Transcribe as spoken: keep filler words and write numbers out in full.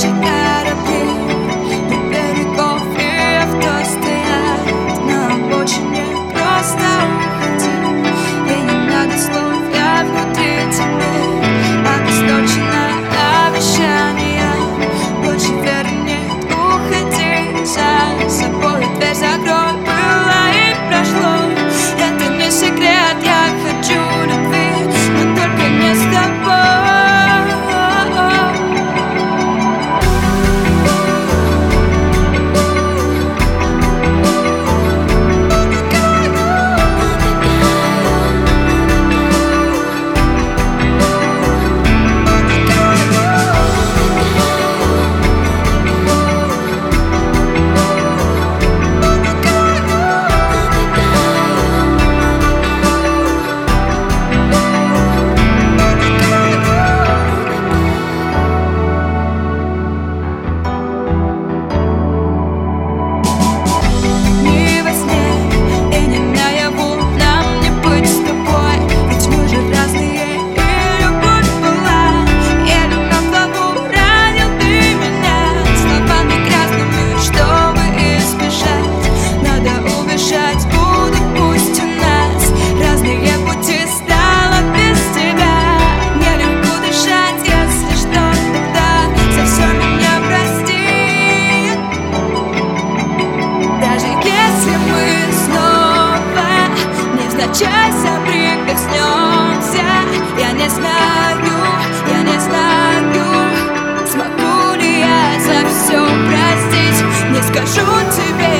наши корабли у берегов и авто стоят на обочине. Просто уходи, и не надо слов, я внутри теперь обесточена обещания. Больше веры нет, уходи, за собой дверь закрой. Было и прошло, это не секрет, я хочу любви, но только не с тобой. Чай соприкоснемся. Я не знаю, я не знаю, смогу ли я за все простить. Не скажу тебе